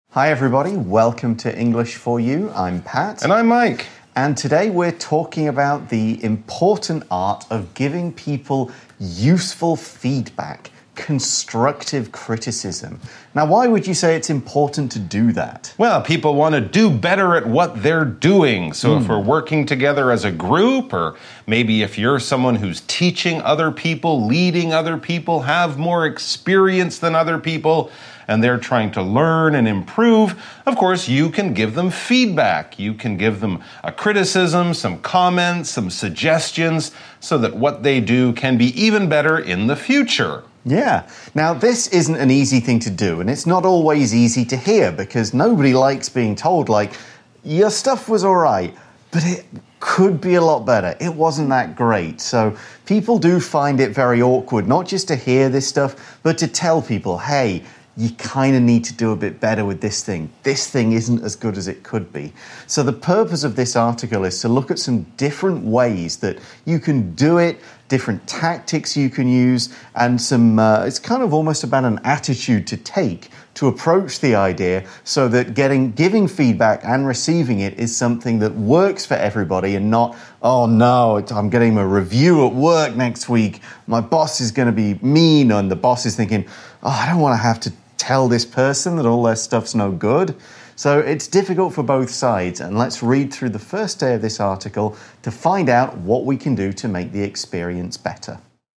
Hi everybody, welcome to English for You. I'm Pat. And I'm Mike. And today we're talking about the important art of giving people useful feedback, constructive criticism. Now, why would you say it's important to do that? Well, people want to do better at what they're doing. So if we're working together as a group, or maybe if you're someone who's teaching other people, leading other people, have more experience than other people, and they're trying to learn and improve, of course, you can give them feedback. You can give them a criticism, some comments, some suggestions, so that what they do can be even better in the future. Yeah. Now, this isn't an easy thing to do, and it's not always easy to hear, because nobody likes being told, like, your stuff was all right, but it could be a lot better. It wasn't that great. So people do find it very awkward, not just to hear this stuff, but to tell people, hey, you kind of need to do a bit better with this thing. This thing isn't as good as it could be. So the purpose of this article is to look at some different ways that you can do it, different tactics you can use, and it's kind of almost about an attitude to take to approach the idea so that giving feedback and receiving it is something that works for everybody and not, oh no, I'm getting a review at work next week, my boss is going to be mean, and the boss is thinking, oh, I don't want to have to tell this person that all their stuff's no good. So it's difficult for both sides, and let's read through the first day of this article to find out what we can do to make the experience better.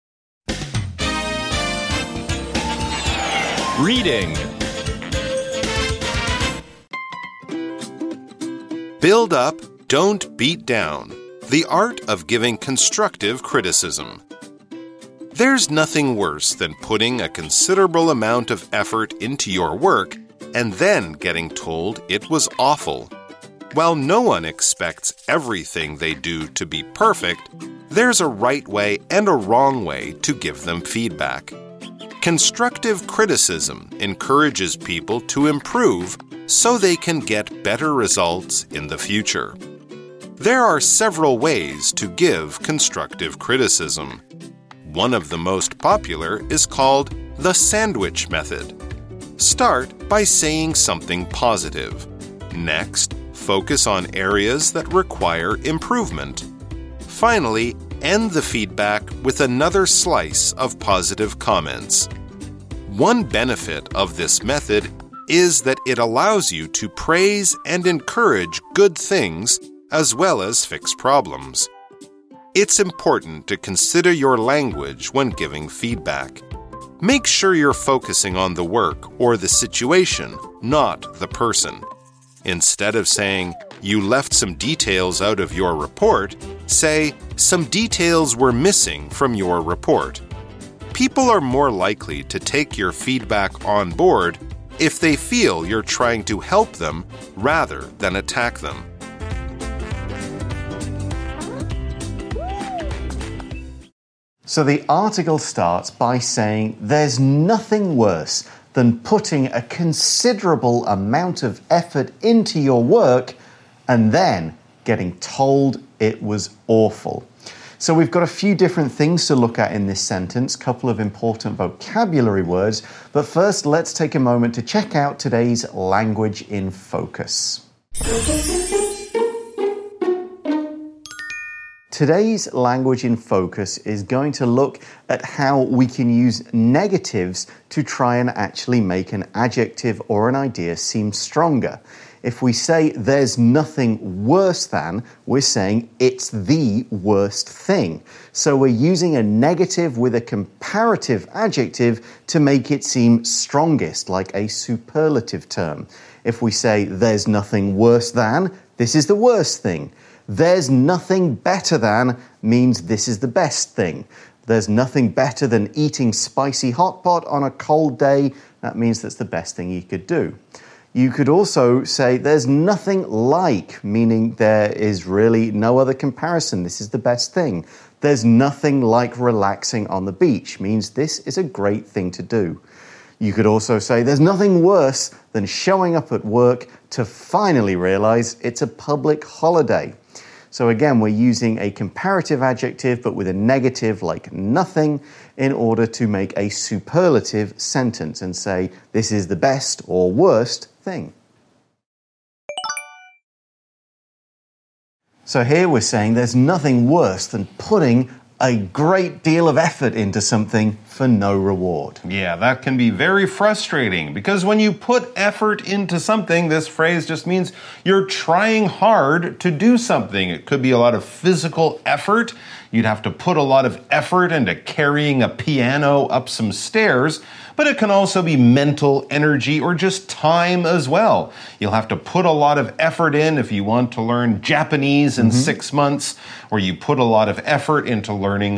Reading. Build up, don't beat down. The art of giving constructive criticism. There's nothing worse than putting a considerable amount of effort into your work and then getting told it was awful. While no one expects everything they do to be perfect, there's a right way and a wrong way to give them feedback. Constructive criticism encourages people to improve so they can get better results in the future. There are several ways to give constructive criticism. One of the most popular is called the sandwich method. Start by saying something positive. Next, focus on areas that require improvement. Finally, end the feedback with another slice of positive comments. One benefit of this method is that it allows you to praise and encourage good things as well as fix problems. It's important to consider your language when giving feedback. Make sure you're focusing on the work or the situation, not the person. Instead of saying, you left some details out of your report, say, some details were missing from your report. People are more likely to take your feedback on board if they feel you're trying to help them rather than attack them. So the article starts by saying there's nothing worse than putting a considerable amount of effort into your work and then getting told it was awful. So we've got a few different things to look at in this sentence, a couple of important vocabulary words, but first let's take a moment to check out today's language in focus. Today's language in focus is going to look at how we can use negatives to try and actually make an adjective or an idea seem stronger. If we say there's nothing worse than, we're saying it's the worst thing. So we're using a negative with a comparative adjective to make it seem strongest, like a superlative term. If we say there's nothing worse than, this is the worst thing. There's nothing better than means this is the best thing. There's nothing better than eating spicy hot pot on a cold day. That means that's the best thing you could do. You could also say there's nothing like, meaning there is really no other comparison. This is the best thing. There's nothing like relaxing on the beach, means this is a great thing to do. You could also say there's nothing worse than showing up at work to finally realize it's a public holiday. So again, we're using a comparative adjective, but with a negative like nothing, in order to make a superlative sentence and say, this is the best or worst thing. So here we're saying there's nothing worse than putting a great deal of effort into something for no reward. Yeah, that can be very frustrating because when you put effort into something, this phrase just means you're trying hard to do something. It could be a lot of physical effort. You'd have to put a lot of effort into carrying a piano up some stairs, but it can also be mental energy or just time as well. You'll have to put a lot of effort in if you want to learn Japanese in 6 months, or you put a lot of effort into learning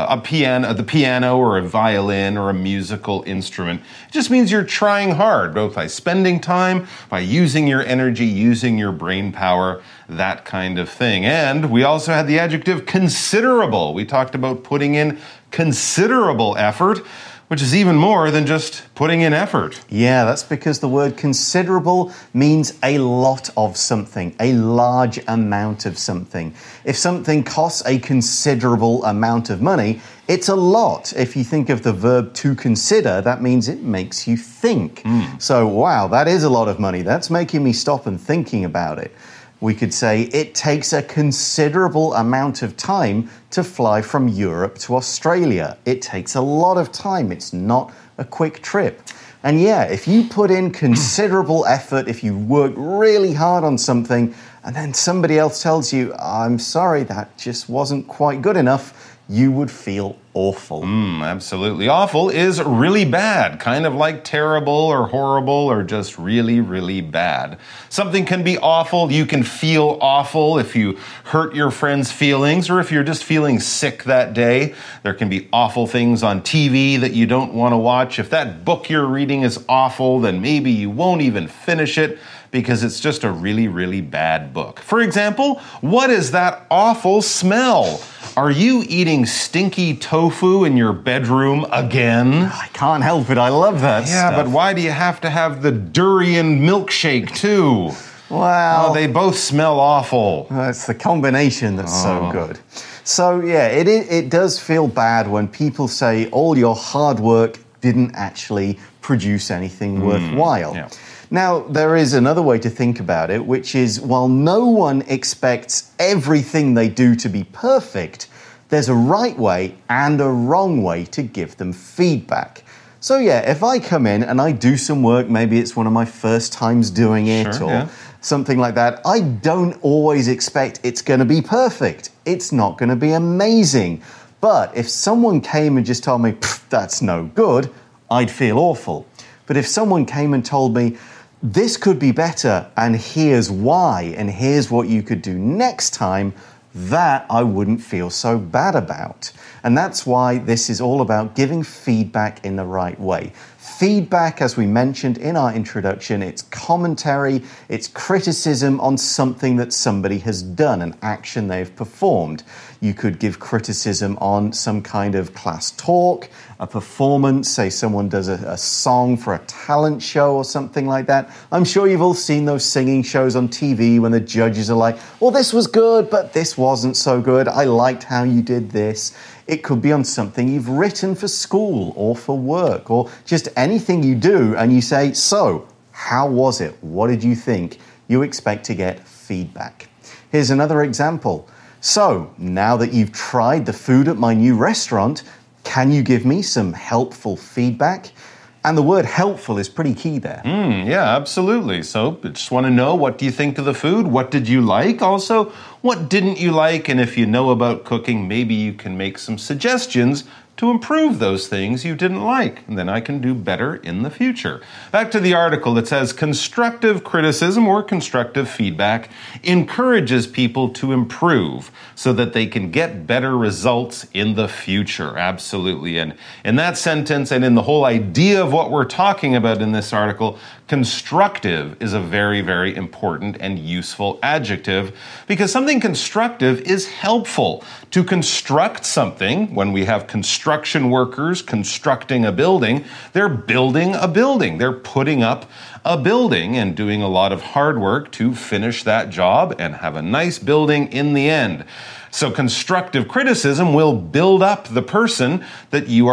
the piano or a violin or a musical instrument. It just means you're trying hard, both by spending time, by using your energy, using your brain power, that kind of thing. And we also had the adjective considerable. We talked about putting in considerable effort, which is even more than just putting in effort. Yeah, that's because the word considerable means a lot of something, a large amount of something. If something costs a considerable amount of money, it's a lot. If you think of the verb to consider, that means it makes you think. So, wow, that is a lot of money. That's making me stop and thinking about it. We could say it takes a considerable amount of time to fly from Europe to Australia. It takes a lot of time. It's not a quick trip. And yeah, if you put in considerable effort, if you work really hard on something, and then somebody else tells you, I'm sorry, that just wasn't quite good enough, you would feel awful. Absolutely. Awful is really bad, kind of like terrible or horrible or just really, really bad. Something can be awful. You can feel awful if you hurt your friend's feelings or if you're just feeling sick that day. There can be awful things on TV that you don't want to watch. If that book you're reading is awful, then maybe you won't even finish it because it's just a really, really bad book. For example, what is that awful smell? Are you eating stinky tofu in your bedroom again? I can't help it. I love that stuff. Yeah, but why do you have to have the durian milkshake too? Well, Oh, they both smell awful. it's the combination that's so good. So yeah, it does feel bad when people say all your hard work didn't actually produce anything worthwhile. Yeah. Now, there is another way to think about it, which is while no one expects everything they do to be perfect, there's a right way and a wrong way to give them feedback. So yeah, if I come in and I do some work, maybe it's one of my first times doing it something like that, I don't always expect it's going to be perfect. It's not going to be amazing. But if someone came and just told me, that's no good, I'd feel awful. But if someone came and told me, this could be better, and here's why, and here's what you could do next time, that I wouldn't feel so bad about. And that's why this is all about giving feedback in the right way. Feedback, as we mentioned in our introduction, it's commentary, it's criticism on something that somebody has done, an action they've performed. You could give criticism on some kind of class talk, a performance, say someone does a song for a talent show or something like that. I'm sure you've all seen those singing shows on TV when the judges are like, well, this was good, but this wasn't so good. I liked how you did this. It could be on something you've written for school or for work or just anything you do and you say, so, how was it? What did you think? You expect to get feedback. Here's another example. So, now that you've tried the food at my new restaurant, can you give me some helpful feedback? And the word helpful is pretty key there. Yeah, absolutely. So I just want to know, what do you think of the food? What did you like? Also, what didn't you like? And if you know about cooking, maybe you can make some suggestions to improve those things you didn't like, and then I can do better in the future. Back to the article that says constructive criticism or constructive feedback encourages people to improve so that they can get better results in the future. Absolutely. And in that sentence and in the whole idea of what we're talking about in this article, constructive is a very, very important and useful adjective because something constructive is helpful. To construct something, when we have construction workers constructing a building, they're building a building. They're putting up a building and doing a lot of hard work to finish that job and have a nice building in the end. So constructive criticism will build up the person that you are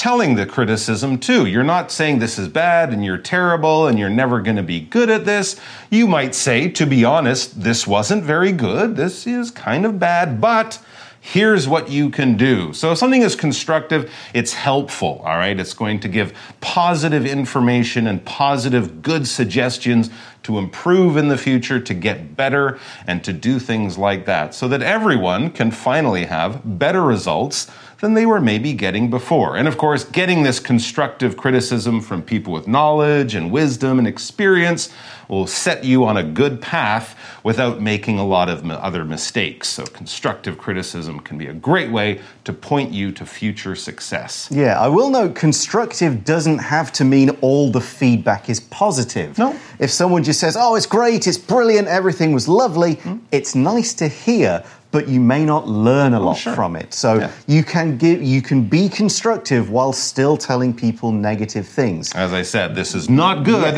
telling the criticism too. You're not saying this is bad and you're terrible and you're never going to be good at this. You might say, to be honest, this wasn't very good. This is kind of bad, but here's what you can do. So if something is constructive, it's helpful, all right? It's going to give positive information and positive, good suggestions to improve in the future, to get better, and to do things like that so that everyone can finally have better results than they were maybe getting before. And of course, getting this constructive criticism from people with knowledge and wisdom and experience will set you on a good path without making a lot of other mistakes. So constructive criticism can be a great way to point you to future success. Yeah, I will note constructive doesn't have to mean all the feedback is positive. No. If someone just says, oh, it's great, it's brilliant, everything was lovely, it's nice to hear, but you may not learn a lot from it. So you can be constructive while still telling people negative things. As I said, this is not good,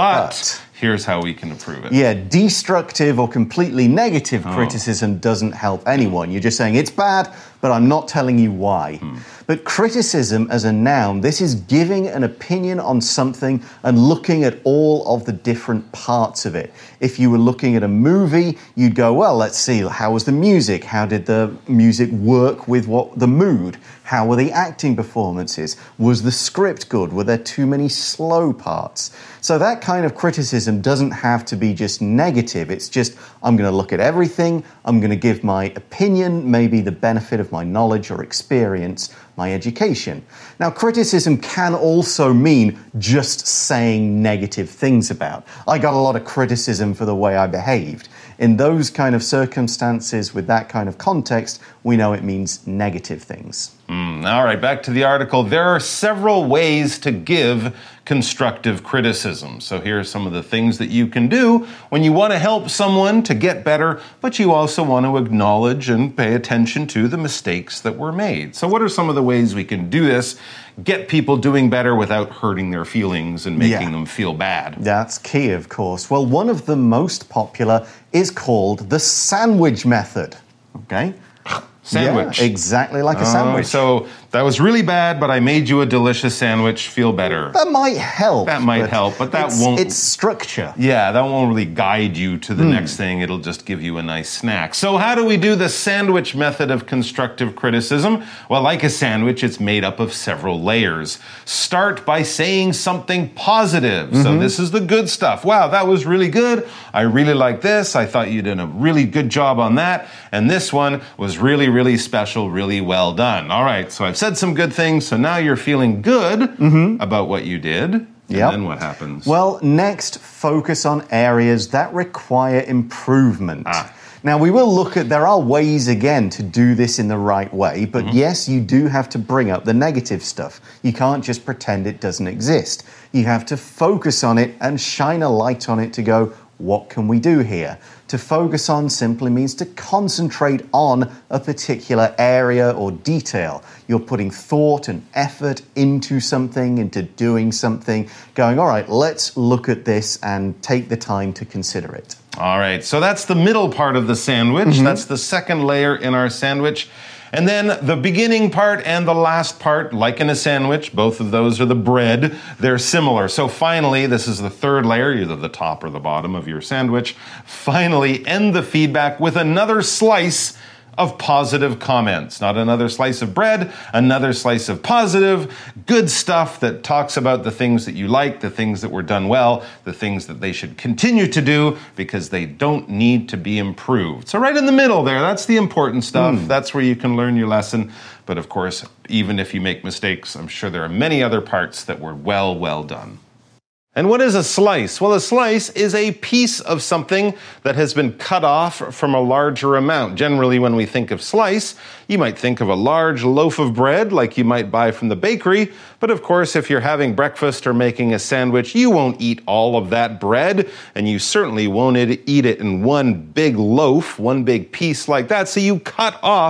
but here's how we can improve it. Yeah, destructive or completely negative criticism doesn't help anyone. You're just saying it's bad, but I'm not telling you why. But criticism as a noun, this is giving an opinion on something and looking at all of the different parts of it. If you were looking at a movie, you'd go, well, let's see, how was the music? How did the music work with the mood? How were the acting performances? Was the script good? Were there too many slow parts? So that kind of criticism doesn't have to be just negative. It's just, I'm going to look at everything. I'm going to give my opinion, maybe the benefit of my knowledge or experience, my education. Now, criticism can also mean just saying negative things about. I got a lot of criticism for the way I behaved. In those kind of circumstances, with that kind of context, we know it means negative things. All right, back to the article. There are several ways to give constructive criticism. So here are some of the things that you can do when you want to help someone to get better, but you also want to acknowledge and pay attention to the mistakes that were made. So what are some of the ways we can do this? Get people doing better without hurting their feelings and making them feel bad. That's key, of course. Well, one of the most popular is called the sandwich method. Okay? Sandwich. Yeah, exactly like a sandwich. So that was really bad, but I made you a delicious sandwich. Feel better. That might help. That might help, but that won't... It's structure. Yeah, that won't really guide you to the next thing. It'll just give you a nice snack. So how do we do the sandwich method of constructive criticism? Well, like a sandwich, it's made up of several layers. Start by saying something positive. So this is the good stuff. Wow, that was really good. I really like this. I thought you did a really good job on that. And this one was really, really special, really well done. All right, so I've said some good things, so now you're feeling good about what you did. And then what happens? Well, next, focus on areas that require improvement. Now, we will look at, there are ways, again, to do this in the right way, but yes, you do have to bring up the negative stuff. You can't just pretend it doesn't exist. You have to focus on it and shine a light on it to go, what can we do here? To focus on simply means to concentrate on a particular area or detail. You're putting thought and effort into something, into doing something, going, all right, let's look at this and take the time to consider it. All right, so that's the middle part of the sandwich. That's the second layer in our sandwich. And then the beginning part and the last part, like in a sandwich, both of those are the bread. They're similar. So finally, this is the third layer, either the top or the bottom of your sandwich. Finally, end the feedback with another slice of positive comments. Not another slice of bread, another slice of positive, good stuff that talks about the things that you like, the things that were done well, the things that they should continue to do because they don't need to be improved. So right in the middle there, that's the important stuff. That's where you can learn your lesson. But of course, even if you make mistakes, I'm sure there are many other parts that were well done. And what is a slice? Well, a slice is a piece of something that has been cut off from a larger amount. Generally, when we think of slice, you might think of a large loaf of bread like you might buy from the bakery. But of course, if you're having breakfast or making a sandwich, you won't eat all of that bread, and you certainly won't eat it in one big loaf, one big piece like that. So you cut off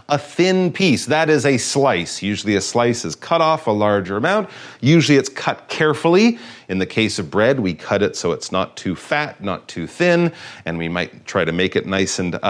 a thin piece. That is a slice. Usually a slice is cut off a larger amount. Usually it's cut carefully. In the case of bread, we cut it so it's not too fat, not too thin, and we might try to make it nice and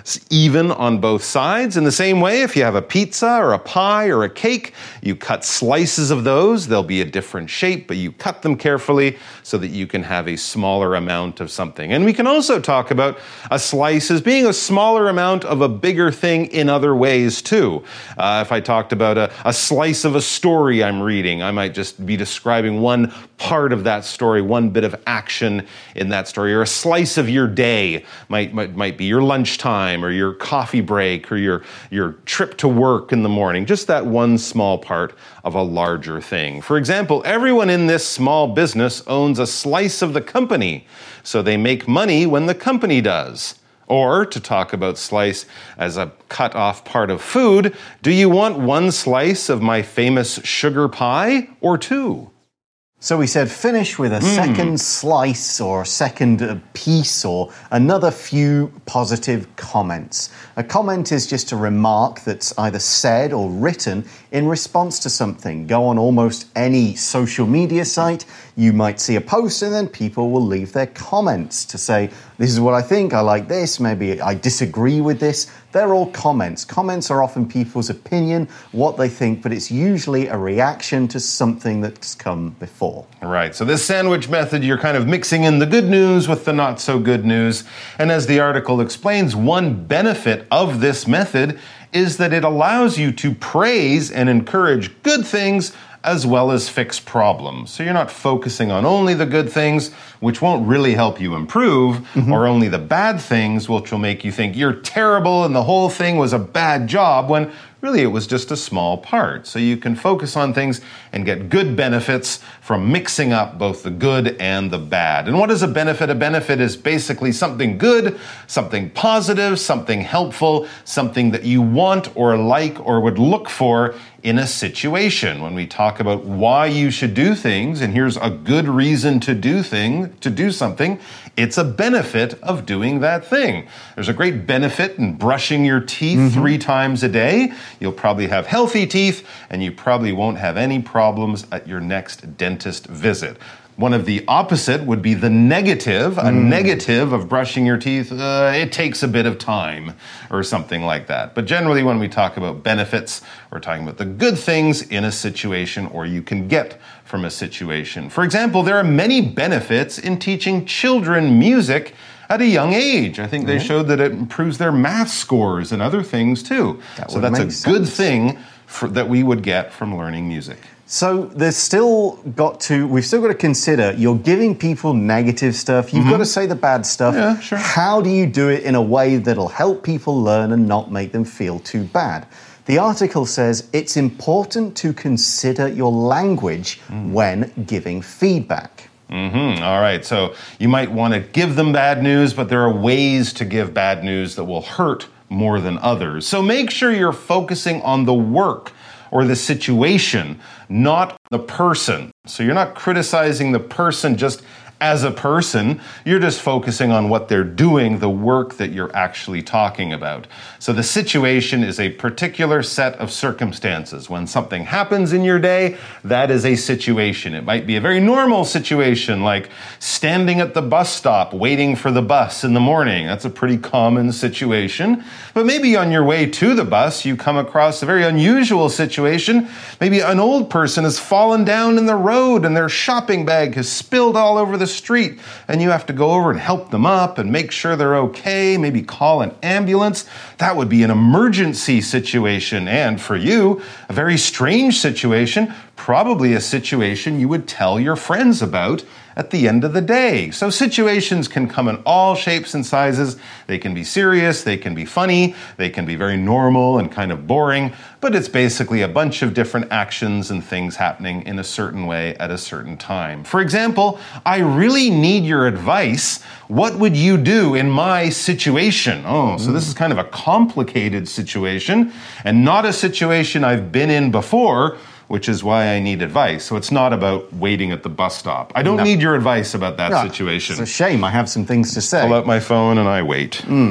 even on both sides. In the same way, if you have a pizza or a pie or a cake, you cut slices of those. They'll be a different shape, but you cut them carefully so that you can have a smaller amount of something. And we can also talk about a slice as being a smaller amount of a bigger thing in other ways too. If I talked about a slice of a story I'm reading, I might just be describing one part of that story, one bit of action in that story, or a slice of your day might be your lunchtime or your coffee break or your trip to work in the morning, just that one small part of a larger thing. For example, everyone in this small business owns a slice of the company, so they make money when the company does. Or, to talk about slice as a cut off part of food, do you want one slice of my famous sugar pie or two? So we said finish with a second slice or a second piece or another few positive comments. A comment is just a remark that's either said or written in response to something. Go on almost any social media site, you might see a post and then people will leave their comments to say, this is what I think, I like this, maybe I disagree with this. They're all comments. Comments are often people's opinion, what they think, but it's usually a reaction to something that's come before. Right, so this sandwich method, you're kind of mixing in the good news with the not so good news. And as the article explains, one benefit of this method is that it allows you to praise and encourage good things as well as fix problems. So you're not focusing on only the good things, which won't really help you improve, or only the bad things, which will make you think you're terrible and the whole thing was a bad job, when really it was just a small part. So you can focus on things and get good benefits from mixing up both the good and the bad. And what is a benefit? A benefit is basically something good, something positive, something helpful, something that you want or like or would look for in a situation. When we talk about why you should do things, and here's a good reason to do something, it's a benefit of doing that thing. There's a great benefit in brushing your teeth 3 times a day. You'll probably have healthy teeth, and you probably won't have any problems at your next dentist visit. One of the opposite would be the negative. A negative of brushing your teeth, it takes a bit of time or something like that. But generally when we talk about benefits, we're talking about the good things in a situation or you can get from a situation. For example, there are many benefits in teaching children music at a young age. I think they showed that it improves their math scores and other things too. So that's a good thing that we would get from learning music. So we've still got to consider, you're giving people negative stuff, you've got to say the bad stuff. Yeah, sure. How do you do it in a way that'll help people learn and not make them feel too bad? The article says it's important to consider your language when giving feedback. All right, so you might want to give them bad news, but there are ways to give bad news that will hurt more than others. So make sure you're focusing on the work or the situation, not the person. So you're not criticizing the person just as a person, you're just focusing on what they're doing, the work that you're actually talking about. So the situation is a particular set of circumstances. When something happens in your day, that is a situation. It might be a very normal situation, like standing at the bus stop waiting for the bus in the morning. That's a pretty common situation. But maybe on your way to the bus, you come across a very unusual situation. Maybe an old person has fallen down in the road and their shopping bag has spilled all over the street, and you have to go over and help them up and make sure they're okay, maybe call an ambulance. That would be an emergency situation, and for you, a very strange situation, probably a situation you would tell your friends about at the end of the day. So situations can come in all shapes and sizes. They can be serious, they can be funny, they can be very normal and kind of boring, but it's basically a bunch of different actions and things happening in a certain way at a certain time. For example, I really need your advice. What would you do in my situation? So this is kind of a complicated situation and not a situation I've been in before, which is why I need advice. So it's not about waiting at the bus stop. I don't need your advice about that situation. It's a shame. I have some things to say. Pull out my phone and I wait.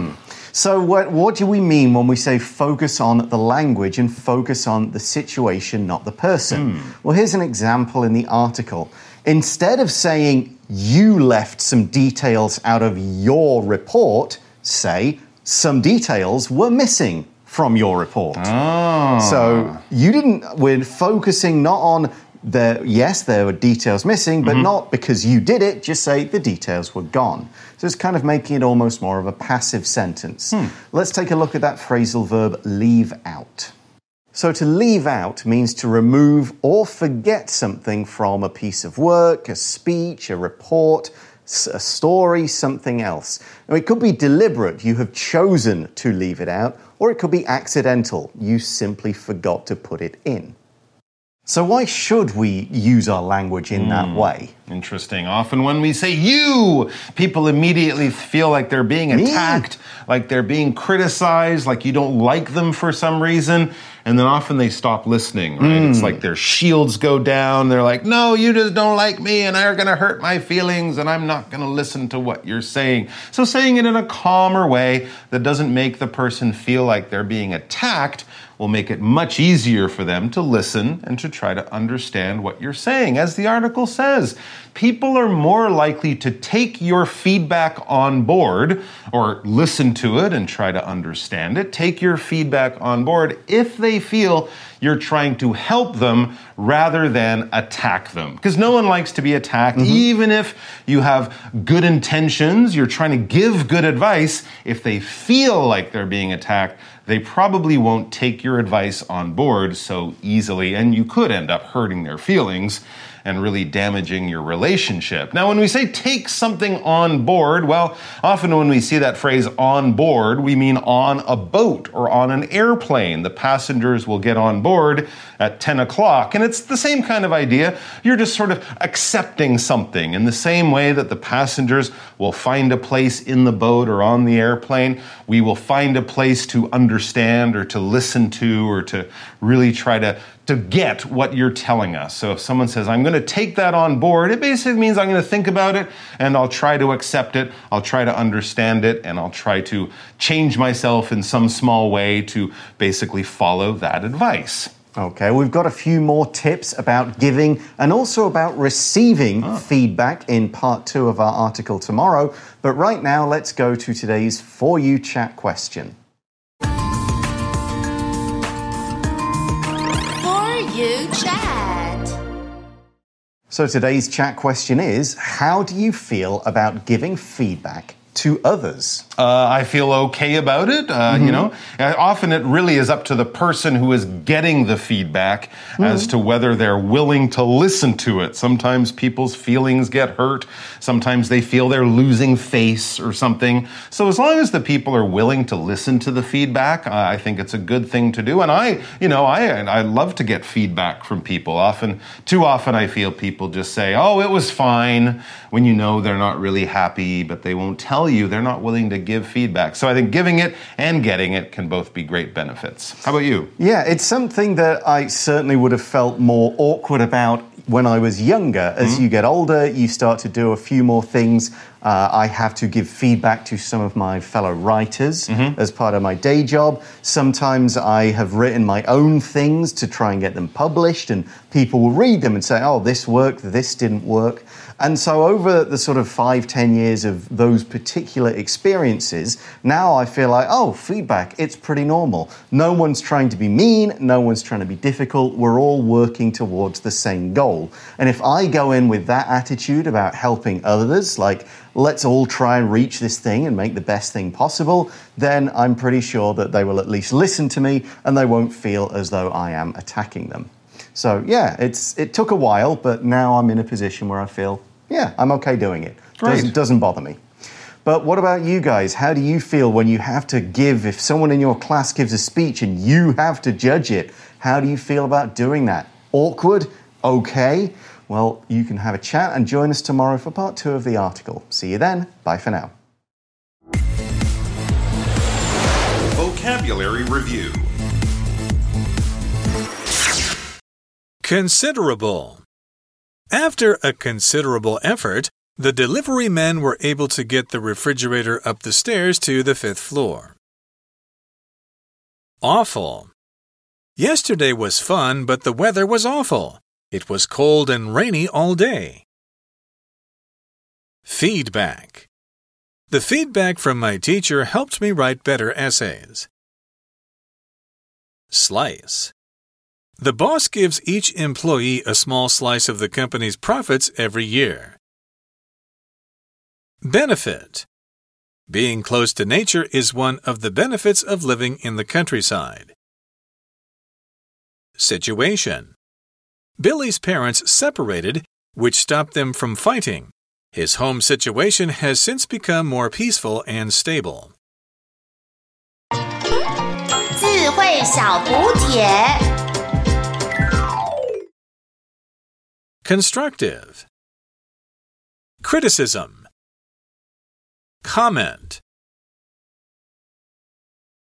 So what do we mean when we say focus on the language and focus on the situation, not the person? Well, here's an example in the article. Instead of saying you left some details out of your report, say some details were missing from your report. So we're focusing not on yes, there were details missing, but not because you did it, just say the details were gone. So it's kind of making it almost more of a passive sentence. Let's take a look at that phrasal verb, leave out. So to leave out means to remove or forget something from a piece of work, a speech, a report, a story, something else. Now, it could be deliberate, you have chosen to leave it out, or it could be accidental, you simply forgot to put it in. So why should we use our language in that way? Interesting. Often when we say you, people immediately feel like they're being attacked, like they're being criticized, like you don't like them for some reason. And then often they stop listening, right? It's like their shields go down. They're like, no, you just don't like me and you're going to hurt my feelings and I'm not going to listen to what you're saying. So saying it in a calmer way that doesn't make the person feel like they're being attacked will make it much easier for them to listen and to try to understand what you're saying. As the article says, people are more likely to take your feedback on board or listen to it and try to understand it. Take your feedback on board if they feel you're trying to help them rather than attack them. Because no one likes to be attacked, even if you have good intentions, you're trying to give good advice. If they feel like they're being attacked, they probably won't take your advice on board so easily, and you could end up hurting their feelings and really damaging your relationship. Now, when we say take something on board, well, often when we see that phrase on board, we mean on a boat or on an airplane. The passengers will get on board at 10 o'clock, and it's the same kind of idea. You're just sort of accepting something in the same way that the passengers will find a place in the boat or on the airplane. We will find a place to understand or to listen to or to really try to get what you're telling us. So if someone says, I'm going to take that on board, it basically means I'm going to think about it and I'll try to accept it, I'll try to understand it, and I'll try to change myself in some small way to basically follow that advice. Okay, we've got a few more tips about giving and also about receiving feedback in part 2 of our article tomorrow. But right now, let's go to today's For You Chat question. You chat. So today's chat question is, how do you feel about giving feedback to others? I feel okay about it. You know, often it really is up to the person who is getting the feedback as to whether they're willing to listen to it. Sometimes people's feelings get hurt. Sometimes they feel they're losing face or something. So as long as the people are willing to listen to the feedback, I think it's a good thing to do. And I love to get feedback from people. Too often I feel people just say, oh, it was fine, when you know they're not really happy, but they won't tell you. They're not willing to give feedback. So I think giving it and getting it can both be great benefits. How about you? Yeah, it's something that I certainly would have felt more awkward about when I was younger. As you get older, you start to do a few more things. I have to give feedback to some of my fellow writers as part of my day job. Sometimes I have written my own things to try and get them published, and people will read them and say, oh, this worked, this didn't work. And so over the sort of 5-10 years of those particular experiences, now I feel like, oh, feedback, it's pretty normal. No one's trying to be mean, no one's trying to be difficult, we're all working towards the same goal. And if I go in with that attitude about helping others, like, let's all try and reach this thing and make the best thing possible, then I'm pretty sure that they will at least listen to me and they won't feel as though I am attacking them. So yeah, it took a while, but now I'm in a position where I feel, yeah, I'm okay doing it. Doesn't bother me. But what about you guys? How do you feel when you have to give, if someone in your class gives a speech and you have to judge it, how do you feel about doing that? Awkward? Okay. Well, you can have a chat and join us tomorrow for part 2 of the article. See you then. Bye for now. Vocabulary Review. Considerable. After a considerable effort, the delivery men were able to get the refrigerator up the stairs to the 5th floor. Awful. Yesterday was fun, but the weather was awful. It was cold and rainy all day. Feedback. The feedback from my teacher helped me write better essays. Slice. The boss gives each employee a small slice of the company's profits every year. Benefit. Being close to nature is one of the benefits of living in the countryside. Situation. Billy's parents separated, which stopped them from fighting. His home situation has since become more peaceful and stable. 智慧小补帖 Constructive. Criticism. Comment.